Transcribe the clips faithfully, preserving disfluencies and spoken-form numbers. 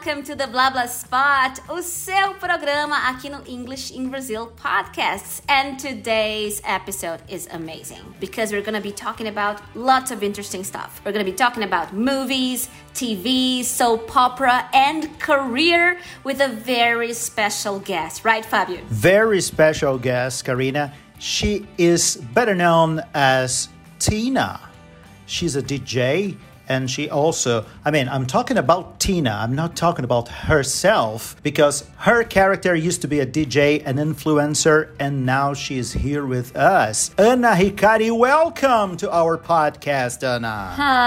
welcome to the Blah Blah Spot, o seu programa aqui no English in Brazil Podcasts. And today's episode is amazing because we're going to be talking about lots of interesting stuff. We're going to be talking about movies, T V, soap opera, and career with a very special guest. Right, Fabio? Very special guest, Karina. She is better known as Tina. She's a D J. And she also, I mean, I'm talking about Tina. I'm not talking about herself because her character used to be a D J, an influencer, and now she is here with us. Ana Hikari, welcome to our podcast, Ana.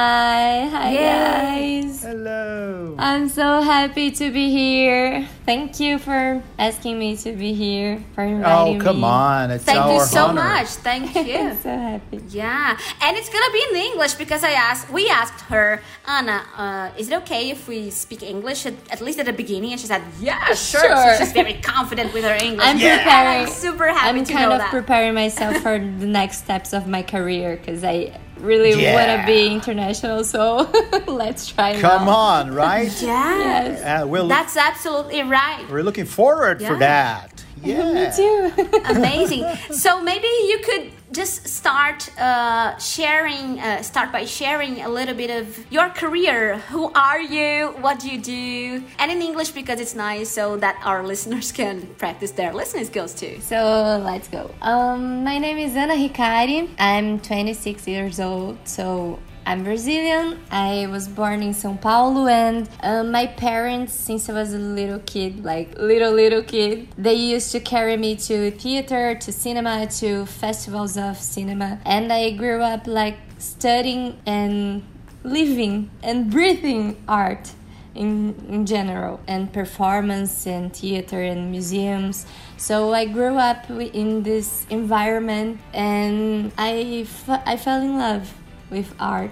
Hi, hi Yay. guys. Hello. I'm so happy to be here. Thank you for asking me to be here, for inviting me. Oh, come on. It's Thank our you so honor. much. Thank you. I'm so happy. Yeah, and it's gonna be in English because I asked, we asked her, Anna, uh, is it okay if we speak English at, at least at the beginning? And she said, yeah, sure. Sure. So she's very confident with her English. I'm yeah. preparing. I'm super happy I'm to kind know of that. preparing myself for the next steps of my career because I really Yeah. want to be international. So let's try Come now. on, right? Yeah, Yes. Uh, we'll, that's absolutely right. we're looking forward for Yeah. that. Yeah. Me too. Amazing. So maybe you could just start uh, sharing, uh, start by sharing a little bit of your career. Who are you? What do you do? And in English because it's nice so that our listeners can practice their listening skills too. So let's go. Um, my name is Ana Hikari. I'm twenty-six years old. So I'm Brazilian. I was born in São Paulo, and uh, my parents, since I was a little kid, like little little kid, they used to carry me to theater, to cinema, to festivals of cinema, and I grew up like studying and living and breathing art. In, in general, and performance and theater and museums. So I grew up in this environment, and I, f- I fell in love with art.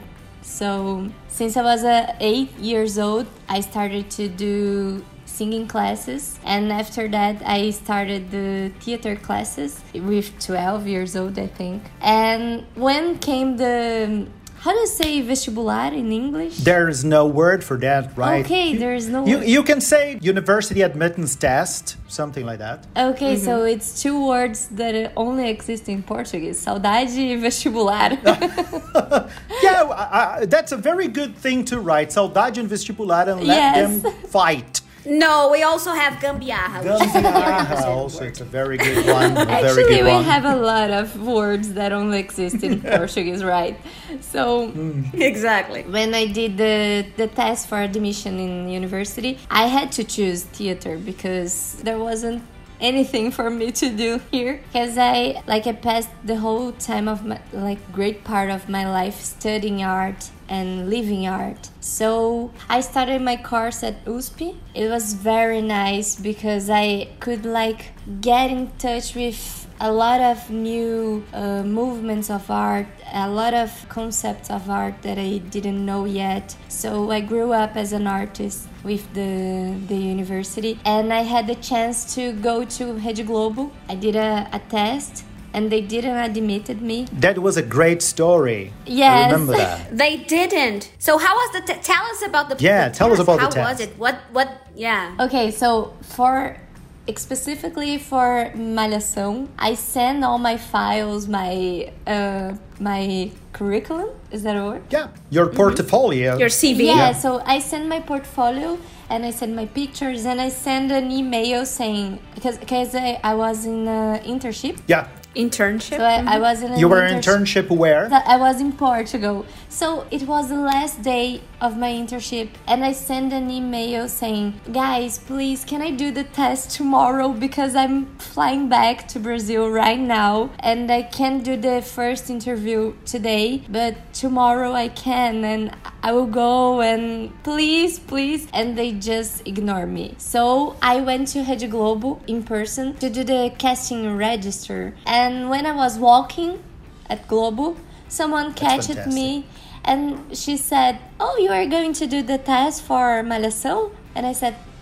So since I was uh, eight years old, I started to do singing classes, and after that I started the theater classes with twelve years old, I think. And when came the, how do you say vestibular in English? There is no word for that, right? Okay, there is no You, word. you can say university admittance test, something like that. Okay, so it's two words that only exist in Portuguese. Saudade e vestibular. Yeah, I, I, that's a very good thing to write. Saudade and vestibular and let Yes. them fight. No, we also have gambiarra. which is a Gambiarra also, it's a very good one. A very Actually, good we one. have a lot of words that only exist in Portuguese, right? So Exactly. when I did the, the test for admission in university, I had to choose theater because there wasn't anything for me to do here, because I like I passed the whole time of my like great part of my life studying art and living art. So I started my course at U S P. It was very nice because I could like get in touch with a lot of new uh, movements of art, a lot of concepts of art that I didn't know yet. So I grew up as an artist with the the university, and I had the chance to go to Rede Globo. I did a, a test, and they didn't admitted me. That was a great story. Yes. I remember that. They didn't. So how was the? T- tell us about the. Yeah, the tell us test. about the how test. How was it? What? What? Yeah. Okay, so for specifically for Malhação, I sent all my files, my uh, my curriculum. Is that a word? Yeah, your portfolio. Your C V. Yeah, so I sent my portfolio and I sent my pictures and I sent an email saying, because because I, I was in an internship. Yeah. Internship. So I, I was in an You were in internship. internship where? So I was in Portugal. So it was the last day of my internship, and I sent an email saying, guys, please, can I do the test tomorrow because I'm flying back to Brazil right now and I can't do the first interview today, but tomorrow I can and I will go, and please, please. And they just ignore me. So I went to Rede Globo in person to do the casting register. And when I was walking at Globo, someone catched fantastic. me and she said, oh, you are going to do the test for Malhação? And I said,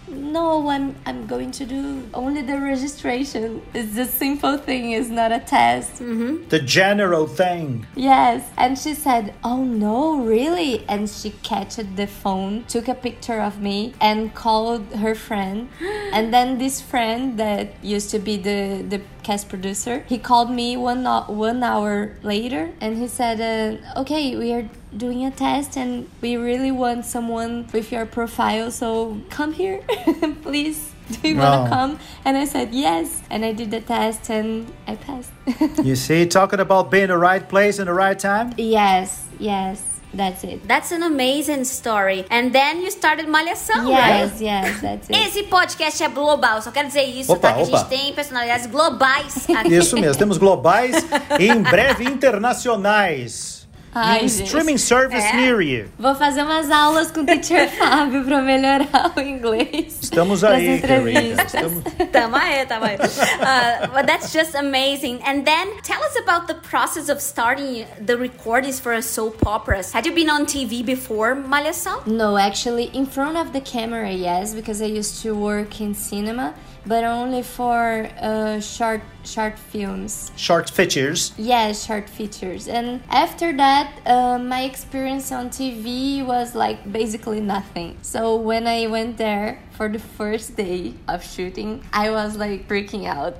no, I'm I'm going to do only the registration. It's a simple thing. It's not a test. Mm-hmm. The general thing. Yes. And she said, oh no, really? And she catched the phone, took a picture of me and called her friend. And then this friend that used to be the, the cast producer, he called me one, one hour later and he said, uh, okay, we are doing a test and we really want someone with your profile, so come here. Please, do you want to come? And I said yes, and I did the test and I passed. You see, talking about being in the right place in the right time? Yes, yes, that's it. That's an amazing story. And then you started Malhação, Yes, right? yes, that's it. Esse podcast é global, só quero dizer isso, Opa, tá? Que opa. a gente tem personalidades globais aqui. Isso mesmo, temos globais e em breve internacionais. Ai, E um gente. streaming service É. near you. Vou fazer umas aulas com o teacher Fábio pra melhorar o inglês. Estamos pras aí, Karina. entrevistas. Estamos... Tamo aí, tamo aí. Uh, but that's just amazing. And then tell us about the process of starting the recordings for a soap operas. Had you been on T V before Malhação? No, actually, in front of the camera, yes, because I used to work in cinema, but only for uh, short short films. Short features. Yes, short features. And after that, uh, my experience on T V was like basically nothing. So when I went there for the first day of shooting, I was like freaking out.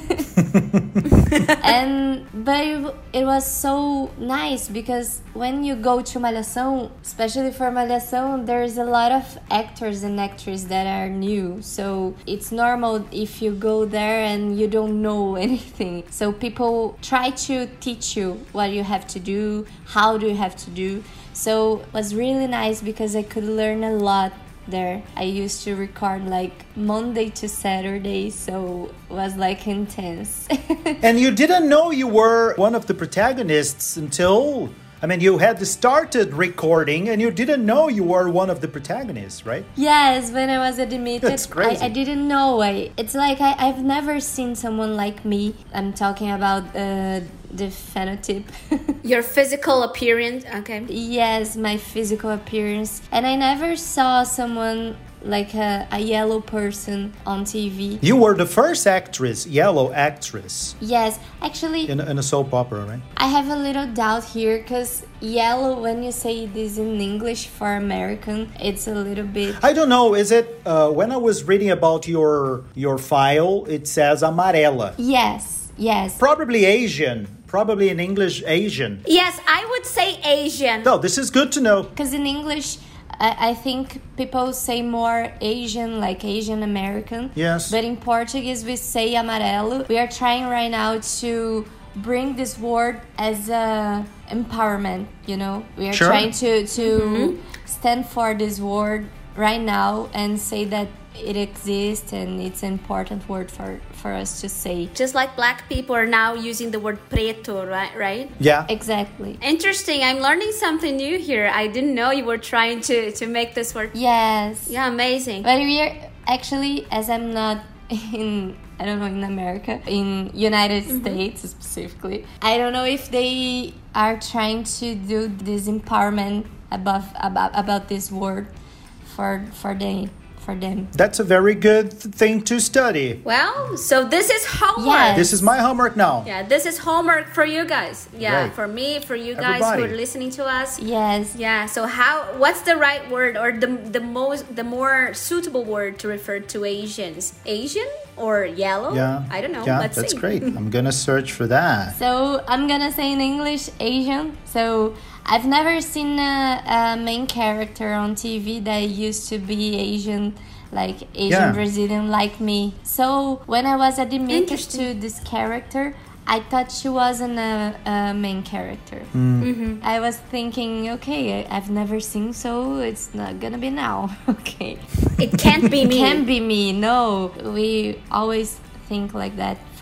And but it, it was so nice because when you go to Malhação, especially for Malhação, there's a lot of actors and actresses that are new. So it's normal if you go there and you don't know anything. So people try to teach you what you have to do, how do you have to do. So it was really nice because I could learn a lot there. I used to record like Monday to Saturday, so it was like intense. And you didn't know you were one of the protagonists until... I mean, you had started recording and you didn't know you were one of the protagonists, right? Yes, when I was admitted, That's crazy. I, I didn't know. I, it's like I, I've never seen someone like me. I'm talking about uh, the phenotype. Your physical appearance, okay. Yes, my physical appearance. And I never saw someone like a, a yellow person on T V. You were the first actress, yellow actress, Yes, actually, in, in a soap opera, right? I have a little doubt here because yellow, when you say this in English for American, it's a little bit... I don't know, is it... Uh, when I was reading about your your file, it says amarela. Yes, yes. Probably Asian. Probably in English, Asian. Yes, I would say Asian. No, this is good to know. Because in English, I, I think people say more Asian, like Asian American. Yes. But in Portuguese, we say amarelo. We are trying right now to bring this word as a empowerment, you know? We are Sure. trying to, to stand for this word right now and say that it exists and it's an important word for, for us to say. Just like black people are now using the word preto, right? Right? Yeah. Exactly. Interesting. I'm learning something new here. I didn't know you were trying to, to make this word. Yes. Yeah, amazing. But we are actually, as I'm not in, I don't know, in America, in United States specifically, I don't know if they are trying to do this empowerment above about about this word for for they for them. That's a very good th- thing to study. Well, so this is homework. Yes. This is my homework now. Yeah, this is homework for you guys. Yeah, Right. for me, for you guys Everybody. who are listening to us. Yes. Yeah, so how what's the right word or the the most the more suitable word to refer to Asians? Asian or yellow? Yeah. I don't know. Yeah, Let's that's see. great. I'm gonna search for that. So I'm gonna say in English Asian. So I've never seen a, a main character on T V that used to be Asian, like Asian Yeah. Brazilian like me. So when I was admitted Interesting. to this character, I thought she wasn't a, a main character. Mm-hmm. I was thinking, okay, I- I've never seen, so it's not gonna be now. Okay. It can't be me. Can be me. No, we always think like that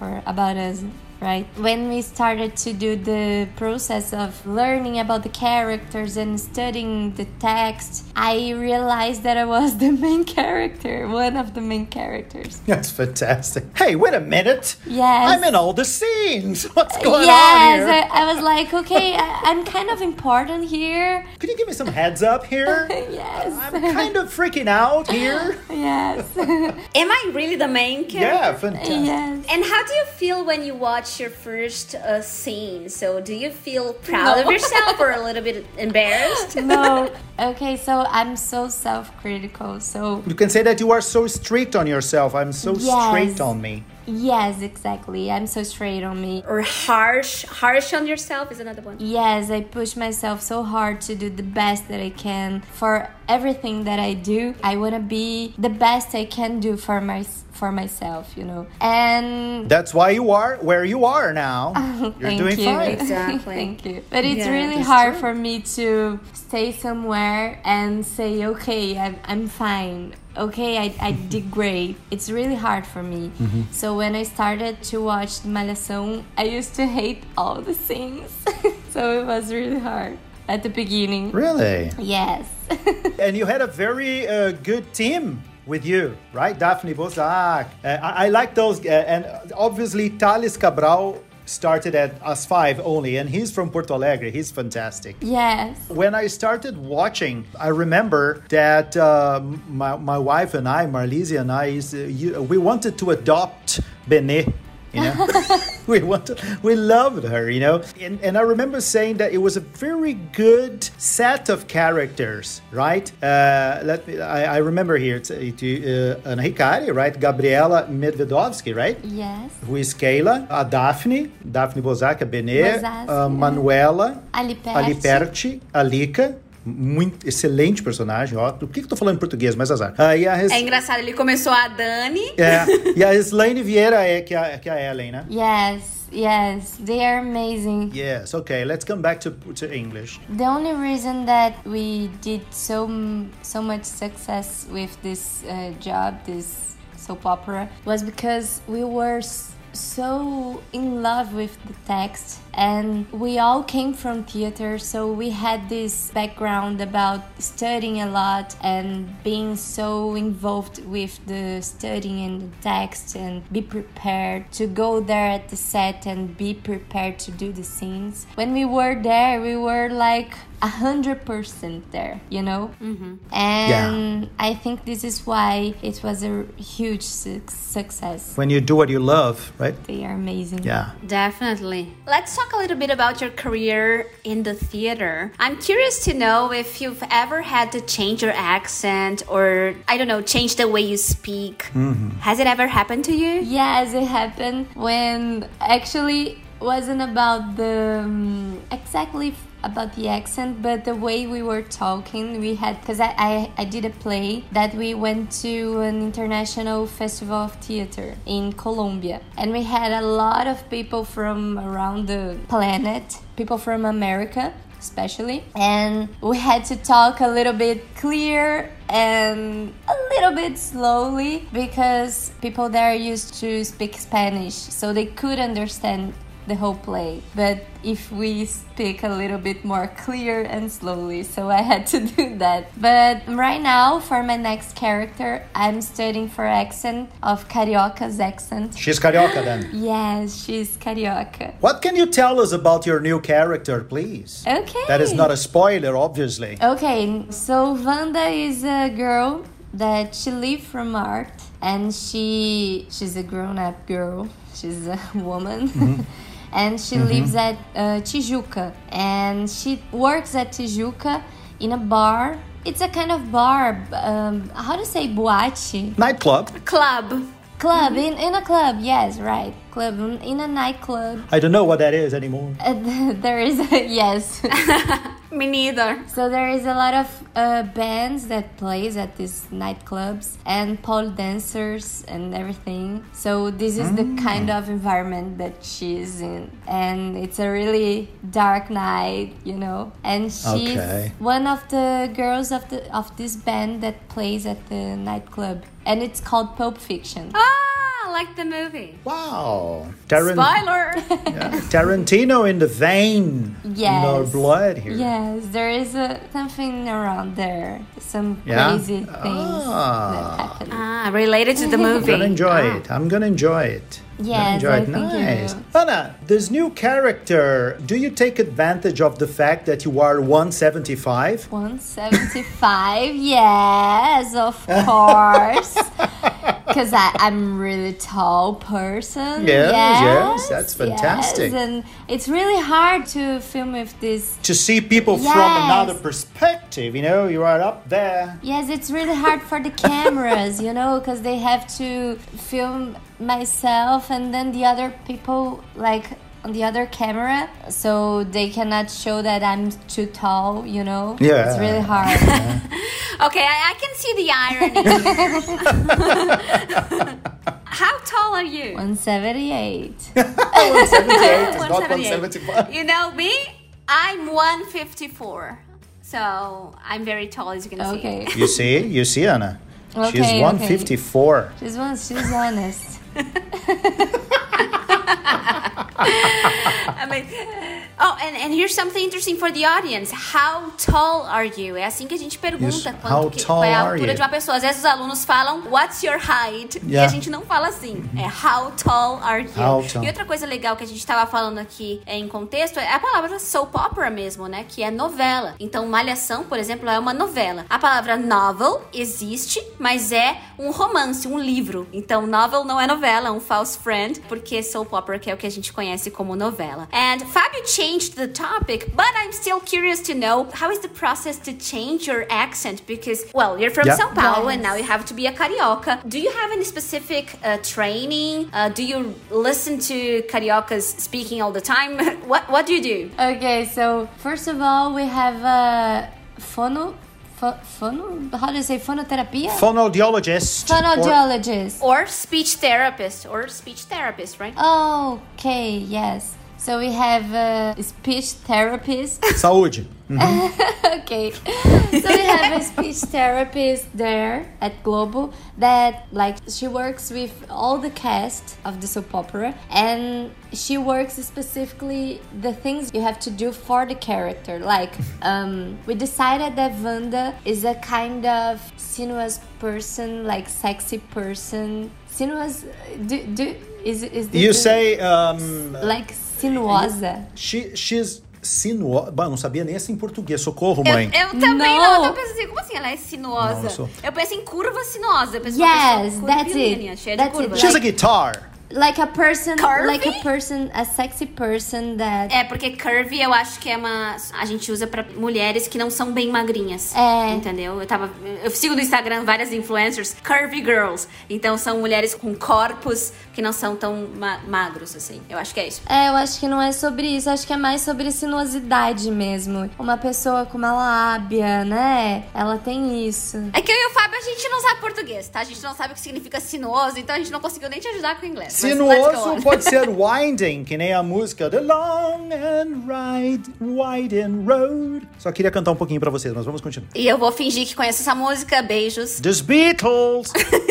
for about us, right? When we started to do the process of learning about the characters and studying the text, I realized that I was the main character, one of the main characters. That's fantastic. Hey, wait a minute. Yes. I'm in all the scenes. What's going yes, on here? I, I was like, okay, I, I'm kind of important here. Could you give me some heads up here? Yes. I'm kind of freaking out here. Yes. Am I really the main character? Yeah, fantastic. Yes. And how do you feel when you watch your first uh, scene? So do you feel proud No. of yourself or a little bit embarrassed? No. Okay, so I'm so self-critical. So You can say that you are so strict on yourself. I'm so Yes. strict on me. yes, exactly. I'm so straight on me. Or harsh? Harsh on yourself is another one. Yes, I push myself so hard to do the best that I can for everything that I do. I want to be the best I can do for my for myself, you know. And That's why you are where you are now. You're Thank doing you. fine. Exactly. Thank you. But it's Yeah, really that's hard true. for me to stay somewhere and say, okay, I'm, I'm fine. Okay, I, I did great. It's really hard for me. Mm-hmm. So when I started to watch Malhação, I used to hate all the scenes. So it was really hard at the beginning. Really? Yes. And you had a very uh, good team with you, right? Daphne Bozak. Uh, I, I like those. Uh, and obviously, Thales Cabral started at As Five only, and he's from Porto Alegre. He's fantastic. Yes. When I started watching, I remember that uh, my, my wife and I, Marlise and I, used to- you- we wanted to adopt Benê. You know, we wanted, we loved her. You know, and, and I remember saying that it was a very good set of characters, right? Uh, let me. I, I remember here. It's, it, uh, Ana Hikari, right? Gabriela Medvedovsky, right? Yes. Who is Keila? A Daphne, Daphne Bozak, a Benê, Bozak, a é. Manuela, Ali Perti. Ali Perti, a Lika, muito excelente personagem, ó. Por que que eu tô falando em português? Mas azar. Ah, e a Res... É engraçado, ele começou a Dani. é, e a Slaine Vieira é que a, que a Ellen, né? Yes. Yes. They are amazing. Yes, okay, let's come back to, to English. The only reason that we did so m- so much success with this uh, job, this soap opera, was because we were s- so in love with the text, and we all came from theater, so we had this background about studying a lot and being so involved with the studying and the text, and be prepared to go there at the set and be prepared to do the scenes. When we were there, we were like a hundred percent there, you know. Mm-hmm. And Yeah. I think this is why it was a huge su- success. When you do what you love, right? They are amazing. Yeah. Definitely. Let's talk a little bit about your career in the theater. I'm curious to know if you've ever had to change your accent or, I don't know, change the way you speak. Mm-hmm. Has it ever happened to you? Yes, it happened when actually wasn't about the um, exactly about the accent, but the way we were talking. We had, because I, I, I did a play that we went to an international festival of theater in Colombia, and we had a lot of people from around the planet, people from America especially, and we had to talk a little bit clear and a little bit slowly because people there used to speak Spanish, so they could understand the whole play, but if we speak a little bit more clear and slowly, so I had to do that. But right now, for my next character, I'm studying for accent of Carioca's accent. She's Carioca then. Yes, she's Carioca. What can you tell us about your new character, please? Okay. That is not a spoiler, obviously. Okay, so Wanda is a girl that she lives from art, and she she's a grown-up girl. She's a woman. Mm-hmm. And she mm-hmm. lives at uh, Tijuca, and she works at Tijuca in a bar. It's a kind of bar, um, how to say boate? Nightclub. Club. Club, in, in a club, yes, right. Club, in a nightclub. I don't know what that is anymore. Uh, there is, a, yes. Me neither. So there is a lot of uh, bands that plays at these nightclubs and pole dancers and everything. So this is mm. the kind of environment that she's in, and it's a really dark night, you know. And she's okay. one of the girls of the of this band that plays at the nightclub, and it's called Pulp Fiction. Ah, I like the movie. Wow. Taran- Spoiler! yeah. Tarantino in the vein. Yes. No blood here. Yes, there is a, something around there. Some Yeah? crazy things Ah. that happen. ah, related to the movie. I'm gonna enjoy Ah. it. I'm gonna enjoy it. I'm gonna Yes, enjoy I it. think you Nice. will. Anna, this new character, do you take advantage of the fact that you are one seventy-five? one seventy-five, yes, of course. Because I'm really tall person. Yes, yes, yes, that's fantastic. Yes, and it's really hard to film with this. To see people from Yes. another perspective, you know, you are up there. Yes, it's really hard for the cameras, you know, because they have to film myself and then the other people, like, on the other camera, so they cannot show that I'm too tall, you know? Yeah. It's really hard. Okay, I, I can see the irony here. How tall are you? one seventy-eight. one seventy-eight is not one one seventy-eight. seventy-five. You know me? I'm one fifty-four. So I'm very tall, as you can see. Okay. You see? You see, Anna? Okay, She's okay. one fifty-four. She's one, she's honest. I mean, oh, and, and here's something interesting for the audience. How tall are you? É assim que a gente pergunta Yes, quanto how que, tall qual é a are altura you? de uma pessoa. Às vezes os alunos falam, what's your height? E Yeah. a gente não fala assim. É how tall are you? How tall. E outra coisa legal que a gente estava falando aqui é, em contexto é a palavra soap opera mesmo, né? Que é novela. Então, Malhação, por exemplo, é uma novela. A palavra novel existe, mas é um romance, um livro. Então, novel não é novela, é um false friend, porque soap opera que é o que a gente conhece como novela. And Fabio changed the topic, but I'm still curious to know how is the process to change your accent? Because, well, you're from Yeah. São Paulo Yes. and now you have to be a carioca. Do you have any specific uh, training? Uh, do you listen to cariocas speaking all the time? what What do you do? Okay, so first of all, we have a phono, pho, phono, how do you say phonotherapia? Phonoaudiologist. or- Phonoaudiologist. Or speech therapist, or speech therapist, right? Okay, yes. So we have a speech therapist. Saúde. Okay. So we have a speech therapist there at Globo that, like, she works with all the cast of the soap opera, and she works specifically the things you have to do for the character. Like, um, we decided that Wanda is a kind of sinuous person, like sexy person. Sinuous, do, do, is, is this You a- say um, like sinuosa. she, she's sinuosa. Bah, não sabia nem assim em português. Socorro, mãe. Eu, eu também No. não, eu penso assim, como assim ela é sinuosa? Não, eu sou- Eu penso em curva sinuosa. Eu penso Yes, uma pessoa that's curvilínea, it. cheia That's de it. curvas. She's a guitar. Like a person, Curvy? like a person, a sexy person that. É, porque curvy eu acho que é uma... A gente usa pra mulheres que não são bem magrinhas. É. Entendeu? Eu tava... Eu sigo no Instagram várias influencers, curvy girls. Então são mulheres com corpos que não são tão ma- magros, assim. Eu acho que é isso. É, eu acho que não é sobre isso, acho que é mais sobre sinuosidade mesmo. Uma pessoa com uma lábia, né? Ela tem isso. É que eu e o Fábio, a gente não sabe português, tá? A gente não sabe o que significa sinuoso, então a gente não conseguiu nem te ajudar com o inglês. Mas let's go Sinuoso on. pode ser winding, que nem a música The Long and Ride, Winding Road. Só queria cantar um pouquinho pra vocês, mas vamos continuar. E eu vou fingir que conheço essa música. Beijos. The Beatles.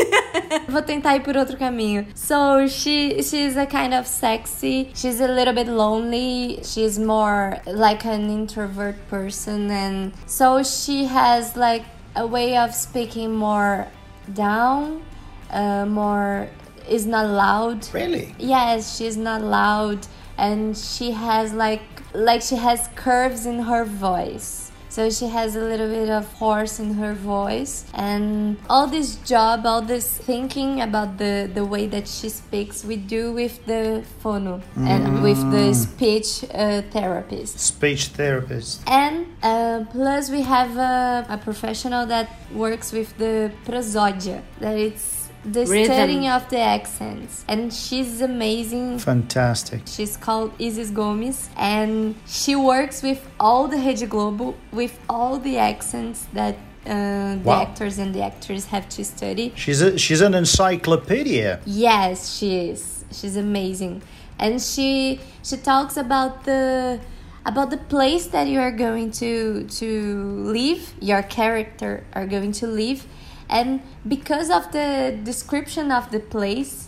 Vou tentar ir por outro caminho. So she she's a kind of sexy. She's a little bit lonely. She's more like an introvert person, and so she has like a way of speaking more down, uh, more is not loud. Really? Yes, she's not loud, and she has like like she has curves in her voice. So she has a little bit of hoarse in her voice, and all this job, all this thinking about the, the way that she speaks, we do with the phono and with the speech uh, therapist. Speech therapist. And uh, plus we have a, a professional that works with the prosodia, that it's the Rhythm. studying of the accents, and she's amazing. Fantastic. She's called Isis Gomes, and she works with all the Rede Globo, with all the accents that uh, the Wow. actors and the actors have to study. She's a, she's an encyclopedia. Yes, she is. She's amazing, and she she talks about the about the place that you are going to to live. Your character are going to live, and because of the description of the place,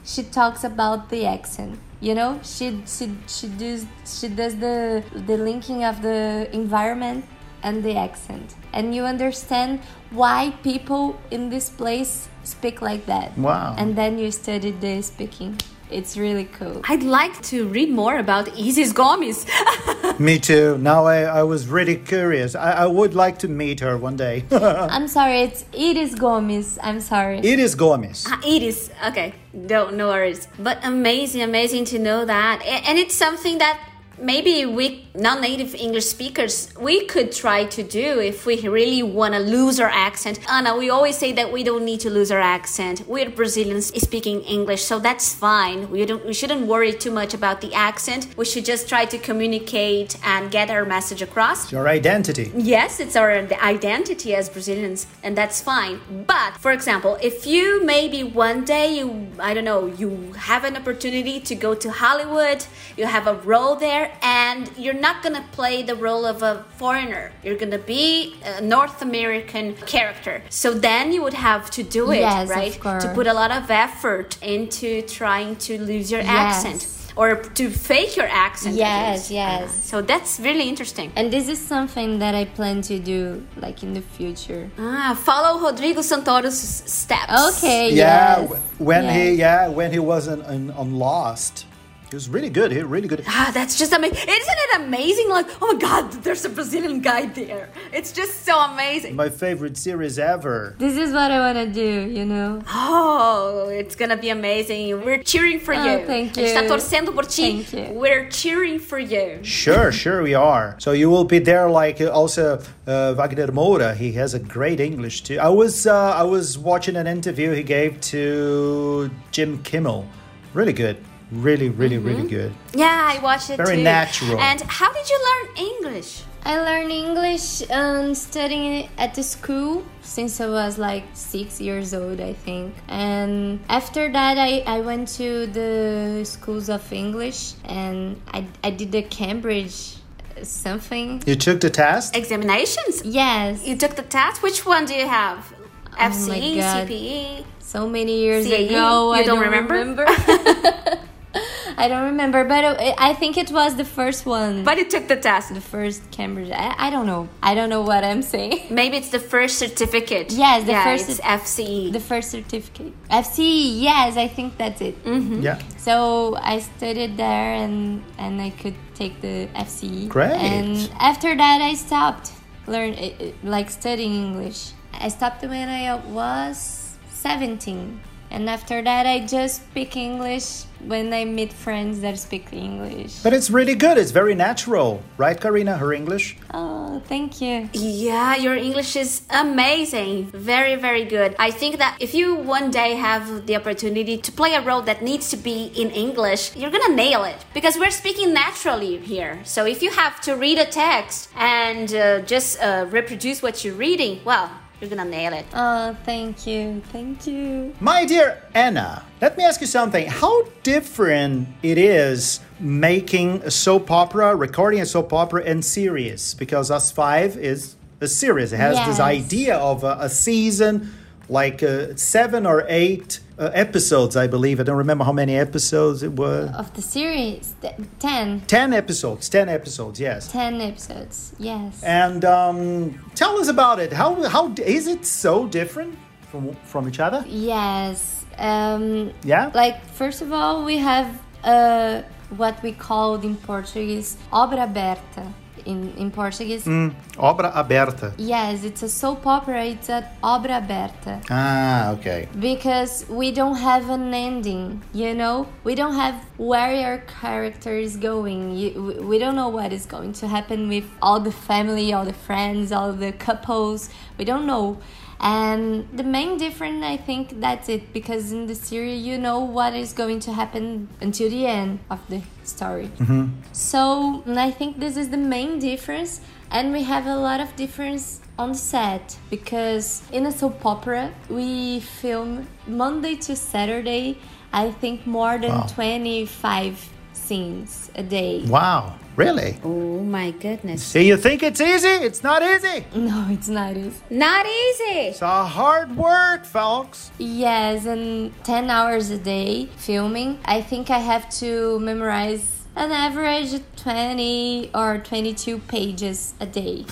she talks about the accent. You know, she she she does she does the the linking of the environment and the accent, and you understand why people in this place speak like that. Wow! And then you study the speaking. It's really cool. I'd like to read more about Isis Gomes. Me too. Now I, I was really curious. I, I would like to meet her one day. I'm sorry, it's Iris Gomes. I'm sorry. Iris Gomes. Ah, Iris. Okay. No, no worries. But amazing, amazing to know that. A- And it's something that maybe we non-native English speakers, we could try to do if we really want to lose our accent. Ana, we always say that we don't need to lose our accent. We're Brazilians speaking English, so that's fine. We don't, we shouldn't worry too much about the accent. We should just try to communicate and get our message across. Your identity. Yes, it's our identity as Brazilians, and that's fine. But, for example, if you maybe one day, you, I don't know, you have an opportunity to go to Hollywood, you have a role there, and you're not gonna play the role of a foreigner. You're gonna be a North American character. So then you would have to do it, Yes, of right? course. To put a lot of effort into trying to lose your Yes. accent. Or to fake your accent. at Yes, least. yes. Uh, so that's really interesting. And this is something that I plan to do, like in the future. Ah, follow Rodrigo Santoro's steps. Okay. Yeah, Yes. w- when yes. he yeah when he was on, on, on Lost, he was really good. He was really good. Ah, that's just amazing. Isn't it amazing? Like, oh my God, there's a Brazilian guy there. It's just so amazing. My favorite series ever. This is what I want to do, you know. Oh, it's gonna be amazing. We're cheering for Oh, you. thank A gente tá you. torcendo por ti. Thank you. We're cheering for you. Sure, sure we are. So you will be there, like uh, also uh, Wagner Moura. He has a great English too. I was uh, I was watching an interview he gave to Jim Kimmel. Really good. Really, really, really good. Yeah, I watched it Very too. natural. And how did you learn English? I learned English um, studying at the school since I was like six years old, I think. And after that, I, I went to the schools of English and I, I did the Cambridge something. You took the test? Examinations? Yes, You took the test? Which one do you have? F C E, my God. C P E? so many years C A E? ago. You I don't don't remember? remember. I don't remember, but it, I think it was the first one. But you took the test. the first Cambridge. I, I don't know. I don't know what I'm saying. Maybe it's the first certificate. Yes, the yeah, first it's cer- F C E. The first certificate. F C E, yes, I think that's it. Mm-hmm. Yeah. So I studied there and and I could take the F C E. Great. And after that I stopped learn eh, eh, like studying English. I stopped when I was seventeen. And after that I just speak English when I meet friends that speak English. But it's really good. It's very natural. Right, Karina? Her English? Oh, thank you. Yeah, your English is amazing. Very, very good. I think that if you one day have the opportunity to play a role that needs to be in English, you're gonna nail it because we're speaking naturally here. So if you have to read a text and uh, just uh, reproduce what you're reading, well, you're gonna nail it. Oh, thank you. Thank you. My dear Anna, let me ask you something. How different it is making a soap opera, recording a soap opera, and series? Because Us Five is a series. It has this Yes. idea of a, a season, like uh, seven or eight uh, episodes, I believe. I don't remember how many episodes it was. Of the series, th- ten. Ten episodes. Ten episodes, yes. ten episodes, yes. And um, tell us about it. How how is it so different from from each other? Yes. Um, Yeah. Like, first of all, we have uh, what we called in Portuguese obra aberta. In, in Portuguese, Obra aberta. yes, it's a soap opera. It's an obra aberta Ah, okay. because we don't have an ending. You know, we don't have where your character is going. You, we- we don't know what is going to happen with all the family, all the friends, all the couples. We don't know. And the main difference, I think that's it, because in the series you know what is going to happen until the end of the story. So I think this is the main difference, and we have a lot of difference on the set, because in a soap opera we film Monday to Saturday, I think more than Wow. twenty-five scenes a day. Wow, really? Oh my goodness. See, you think it's easy? It's not easy. No, it's not easy. Not easy. It's a hard work, folks. Yes, and ten hours a day filming. I think I have to memorize an average twenty or twenty-two pages a day.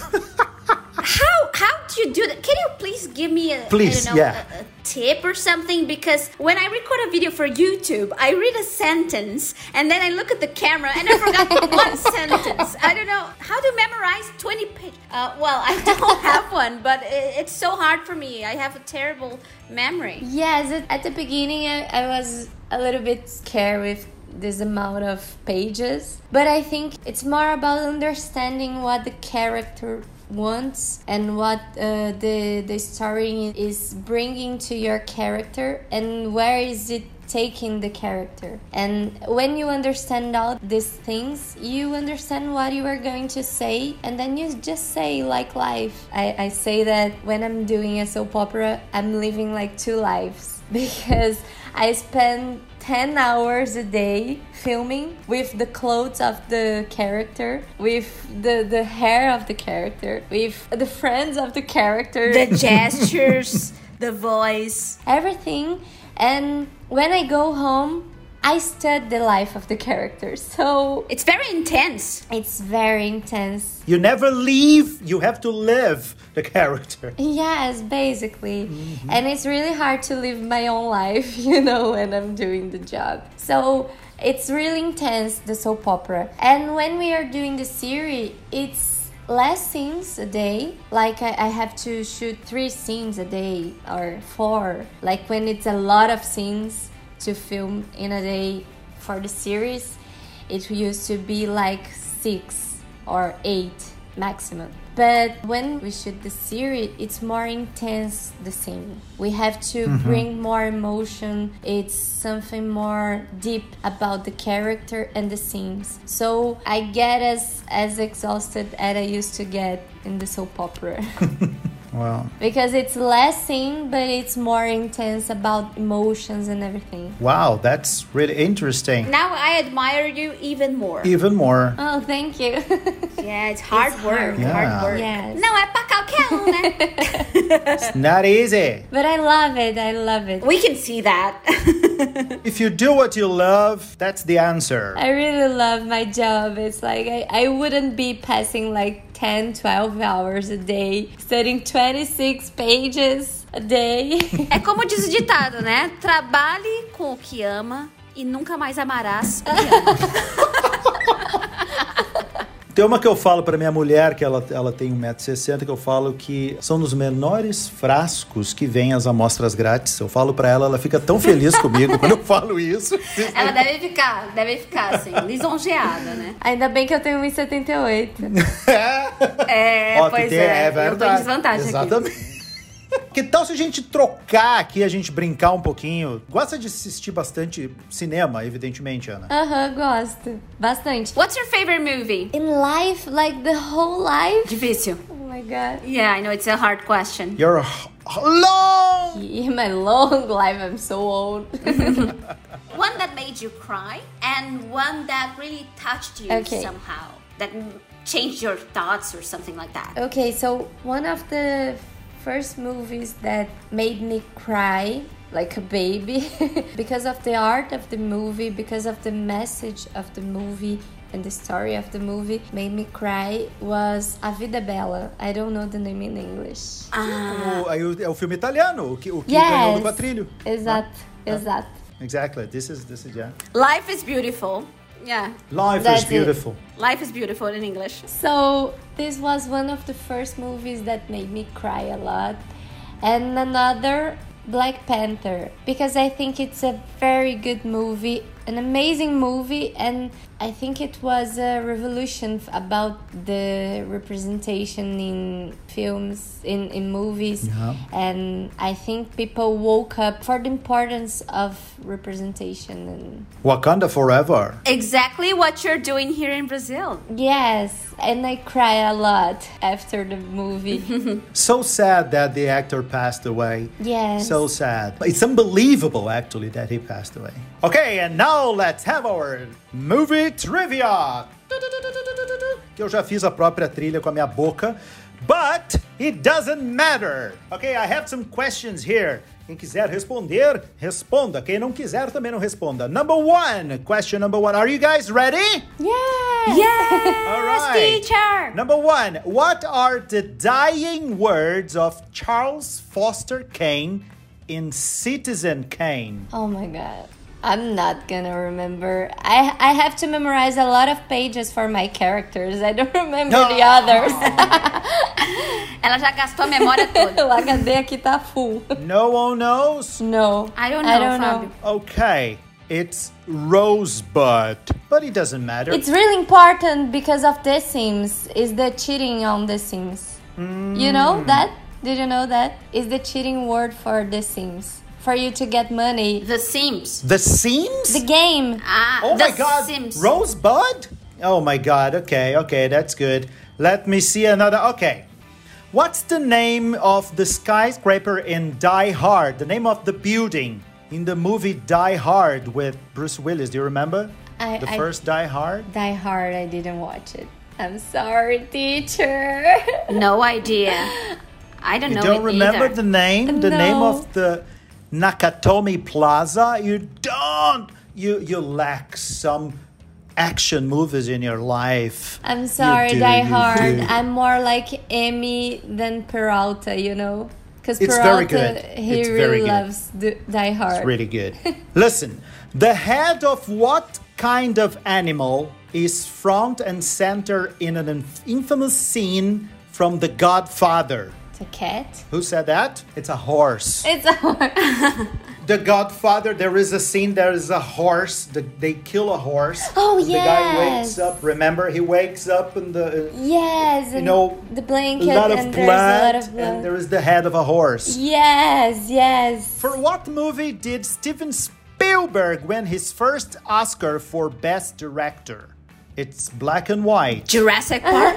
How how do you do that? Can you please give me a, Please, I don't know, yeah. a, a tip or something? Because when I record a video for YouTube, I read a sentence and then I look at the camera and I forgot one sentence. I don't know how to memorize twenty pages. Uh, well, I don't have one, but it, it's so hard for me. I have a terrible memory. Yes, at- at the beginning I, I was a little bit scared with this amount of pages, but I think it's more about understanding what the character wants and what uh, the the story is bringing to your character and where is it taking the character. And when you understand all these things, you understand what you are going to say, and then you just say like life. I, I say that when I'm doing a soap opera, I'm living like two lives because I spend ten hours a day filming with the clothes of the character, with the, the hair of the character, with the friends of the character. The gestures, the voice. Everything. And when I go home, I study the life of the character. So It's very intense. it's very intense. You never leave. You have to live the character. Yes, basically. Mm-hmm. And it's really hard to live my own life, you know, when I'm doing the job. So it's really intense, the soap opera. And when we are doing the series, it's less scenes a day. Like I, I have to shoot three scenes a day or four. Like when it's a lot of scenes to film in a day for the series, it used to be like six or eight maximum. But when we shoot the series, it's more intense, the scene. We have to mm-hmm. bring more emotion. It's something more deep about the character and the scenes. So I get as, as exhausted as I used to get in the soap opera. Wow. Because it's less scene, but it's more intense about emotions and everything. Wow, that's really interesting. Now I admire you even more. Even more. Oh, thank you. Yeah, it's hard It's work. hard. Yeah. Hard work. Yes. Não é pra qualquer um, né? It's not easy. But I love it. I love it. We can see that. If you do what you love, that's the answer. I really love my job. It's like I, I wouldn't be passing like ten, twelve hours a day studying twenty-six pages a day. É como diz o ditado, né? Trabalhe com o que ama e nunca mais amarás o que ama. Tem uma que eu falo pra minha mulher, que ela, ela tem um metro e sessenta, que eu falo que são nos menores frascos que vêm as amostras grátis. Eu falo pra ela, ela fica tão feliz comigo quando eu falo isso. Ela deve ficar, deve ficar assim, lisonjeada, né? Ainda bem que eu tenho um metro e setenta e oito. É, Ó, pois tem, é, é eu tô em verdade. desvantagem Exatamente. aqui. Que tal se a gente trocar aqui, a gente brincar um pouquinho? Gosta de assistir bastante cinema, evidentemente, Ana? Aham, uh-huh, gosto. Bastante. What's your favorite movie? In life, like the whole life? Difícil. Oh my god. Yeah, I know it's a hard question. You're a long... In my long life, I'm so old. One that made you cry and one that really touched you Okay. somehow. That changed your thoughts or something like that. Okay, so one of the first movies that made me cry like a baby because of the art of the movie, because of the message of the movie and the story of the movie made me cry was A Vida é Bela. I don't know the name in English. Ah, O, aí o- é o filme italiano, o que, o que Yes. ganhou do Quatrilho. Exato, Ah. exato. Exactly. This is, this is, yeah. Life is beautiful. Yeah, Life That's is it. beautiful. life is beautiful in English. So this was one of the first movies that made me cry a lot. And another, Black Panther, because I think it's a very good movie, an amazing movie, and I think it was a revolution f- about the representation in films, in, in movies. Yeah. And I think people woke up for the importance of representation. And Wakanda forever. Exactly what you're doing here in Brazil. yes, and I cry a lot after the movie. So sad that the actor passed away. Yes. So sad. It's unbelievable, actually, that he passed away. Okay, and now let's have our Movie Trivia. Que eu já fiz a própria trilha com a minha boca. But it doesn't matter. Okay, I have some questions here. Quem quiser responder, responda. Quem não quiser, também não responda. Number one. Question number one. Are you guys ready? Yes! Yes, All right. teacher! Number one. What are the dying words of Charles Foster Kane in Citizen Kane? Oh my god. I'm not gonna remember. I I have to memorize a lot of pages for my characters. I don't remember No. the others. Ela já gastou a memória toda. O H D aqui tá full. No one knows? No. I don't know, I don't Fábio. know. Okay. It's Rosebud. But it doesn't matter. It's really important because of The Sims. Is the cheating on The Sims. Mm. You know that? Did you know that? Is the cheating word for The Sims. For you to get money. The Sims. The Sims? The game. Ah, Oh The my God, Sims. Rosebud? Oh my God, okay, okay, that's good. Let me see another, okay. What's the name of the skyscraper in Die Hard? The name of the building in the movie Die Hard with Bruce Willis, do you remember? I- the I- first Die Hard? Die Hard, I didn't watch it. I'm sorry, teacher. No idea. I don't You know don't it remember either. the name? The name No. of the Nakatomi Plaza? You don't! You, you lack some action movies in your life. I'm sorry, You do, Die you Hard. do. I'm more like Amy than Peralta, you know? Because It's Peralta, very good. he It's really very good. loves the Die Hard. It's really good. Listen, the head of what kind of animal is front and center in an inf- infamous scene from The Godfather? It's a cat. Who said that? It's a horse. It's a horse. The Godfather, there is a scene, there is a horse. The, they kill a horse. Oh, and The guy yes. wakes up, remember? He wakes up in the... Uh, Yes, and know, the a blanket lot of and blood, there's a lot of blood. and there is the head of a horse. Yes, yes. For what movie did Steven Spielberg win his first Oscar for Best Director? It's black and white. Jurassic Park.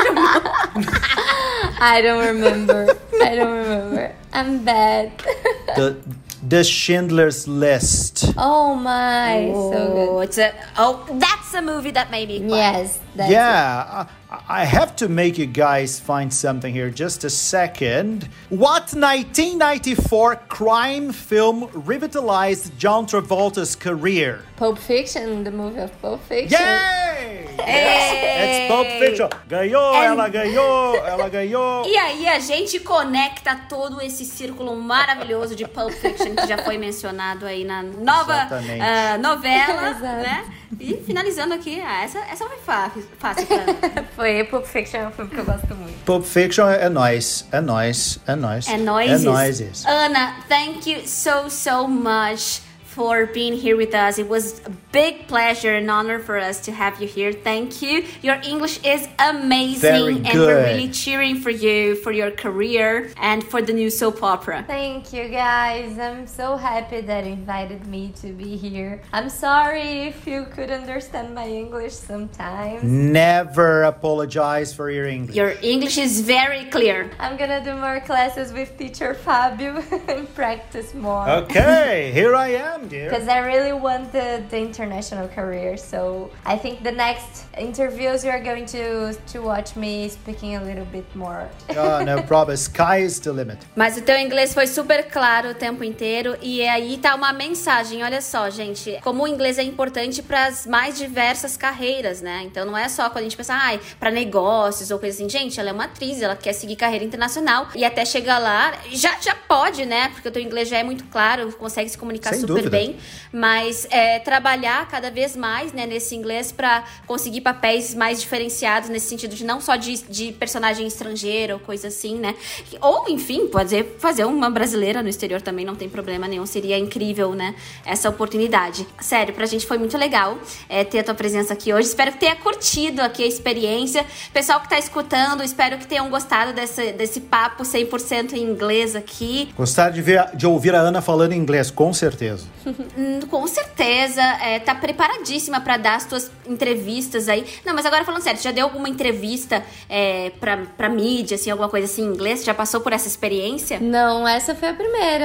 I don't remember. I don't remember. I'm bad. The The Schindler's List. Oh my, so Oh, good. it's a oh, that's a movie that made me cry. Yes, that's it. Yeah, I, I have to make you guys find something here. Just a second. What nineteen ninety-four crime film revitalized John Travolta's career? Pulp Fiction, the movie of Pulp Fiction. Yay! Yes, it's Pulp Fiction. Ganhou, And- ela ganhou, ela ganhou. E aí a gente conecta todo esse círculo maravilhoso de Pulp Fiction que já foi mencionado aí na nova Exatamente. ah, novela, Exato. né? E finalizando aqui, ah, essa, essa foi fácil, fácil pra mim. Foi Pulp Fiction, é um filme que eu gosto muito. Pulp Fiction é nóis, é nóis, é nóis. É nóis. É nóis isso. Ana, thank you so, so much for being here with us. It was a big pleasure and honor for us to have you here. Thank you. Your English is amazing. Very And we're good. really cheering for you, for your career, and for the new soap opera. Thank you guys. I'm so happy that you invited me to be here. I'm sorry if you could understand my English sometimes. Never apologize for your English. Your English is very clear. I'm gonna do more classes with teacher Fabio and practice more. Okay, here I am, dear. Because I really wanted the international career, so I think the next interviews you are going to to watch me speaking a little bit more. Oh, no problem. Sky is the limit. Mas o teu inglês foi super claro o tempo inteiro e aí tá uma mensagem, olha só, gente, como o inglês é importante para as mais diversas carreiras, né? Então não é só quando a gente pensa, ai, para negócios ou coisa assim, gente, ela é uma atriz, ela quer seguir carreira internacional e até chegar lá, já, já pode, né? Porque o teu inglês já é muito claro, consegue se comunicar Sem super dúvida. bem, mas é, trabalhar cada vez mais, né, nesse inglês para conseguir papéis mais diferenciados nesse sentido de não só de, de personagem estrangeiro ou coisa assim, né? Ou, enfim, pode fazer uma brasileira no exterior também, não tem problema nenhum. Seria incrível, né? Essa oportunidade. Sério, pra gente foi muito legal é, ter a tua presença aqui hoje. Espero que tenha curtido aqui a experiência. Pessoal que tá escutando, espero que tenham gostado desse, desse papo cem por cento em inglês aqui. Gostaram de, ver, de ouvir a Ana falando inglês, com certeza. Hum, com certeza, é, tá preparadíssima pra dar as tuas entrevistas aí. Não, mas agora falando sério, já deu alguma entrevista é, pra, pra mídia, assim, alguma coisa assim em inglês? Já passou por essa experiência? Não, essa foi a primeira.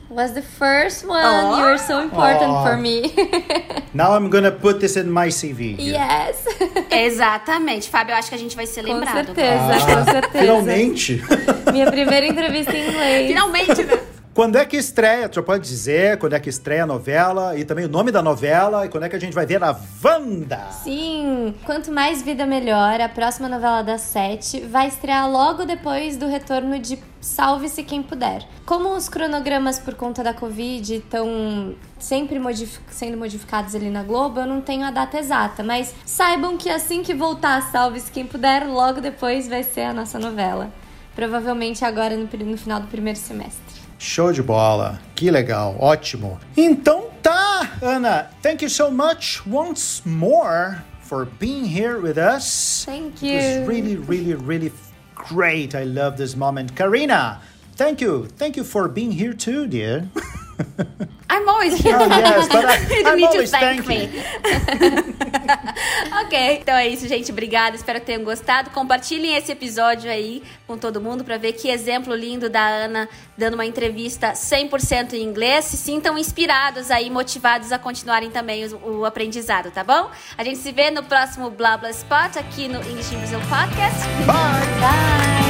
was the first one. Oh. You were so important Oh. for me. Now I'm gonna put this in my C V. here. Yes. Exatamente. Fábio, eu acho que a gente vai ser Com lembrado. certeza, com certeza. Finalmente. Minha primeira entrevista em inglês. Finalmente, né? Quando é que estreia? Tu já pode dizer quando é que estreia a novela e também o nome da novela e quando é que a gente vai ver a Wanda? Sim, Quanto Mais Vida Melhor, a próxima novela das sete, vai estrear logo depois do retorno de Salve-se Quem Puder. Como os cronogramas por conta da Covid estão sempre modific- sendo modificados ali na Globo, eu não tenho a data exata, mas saibam que assim que voltar Salve-se Quem Puder, logo depois vai ser a nossa novela. Provavelmente agora no, no final do primeiro semestre. Show de bola, que legal, ótimo. Então tá, Ana, thank you so much once more for being here with us. Thank It was you. really, really, really great. I love this moment. Karina, thank you. Thank you for being here too, dear. I'm always here. Oh, yes, but I, You don't I'm need to always thank thanking. me. Ok, então é isso, gente. Obrigada, espero que tenham gostado. Compartilhem esse episódio aí com todo mundo pra ver que exemplo lindo da Ana dando uma entrevista cem por cento em inglês. Se sintam inspirados aí, motivados a continuarem também o, o aprendizado, tá bom? A gente se vê no próximo Blá Blá Spot aqui no English in Brazil Podcast. Bye. Bye.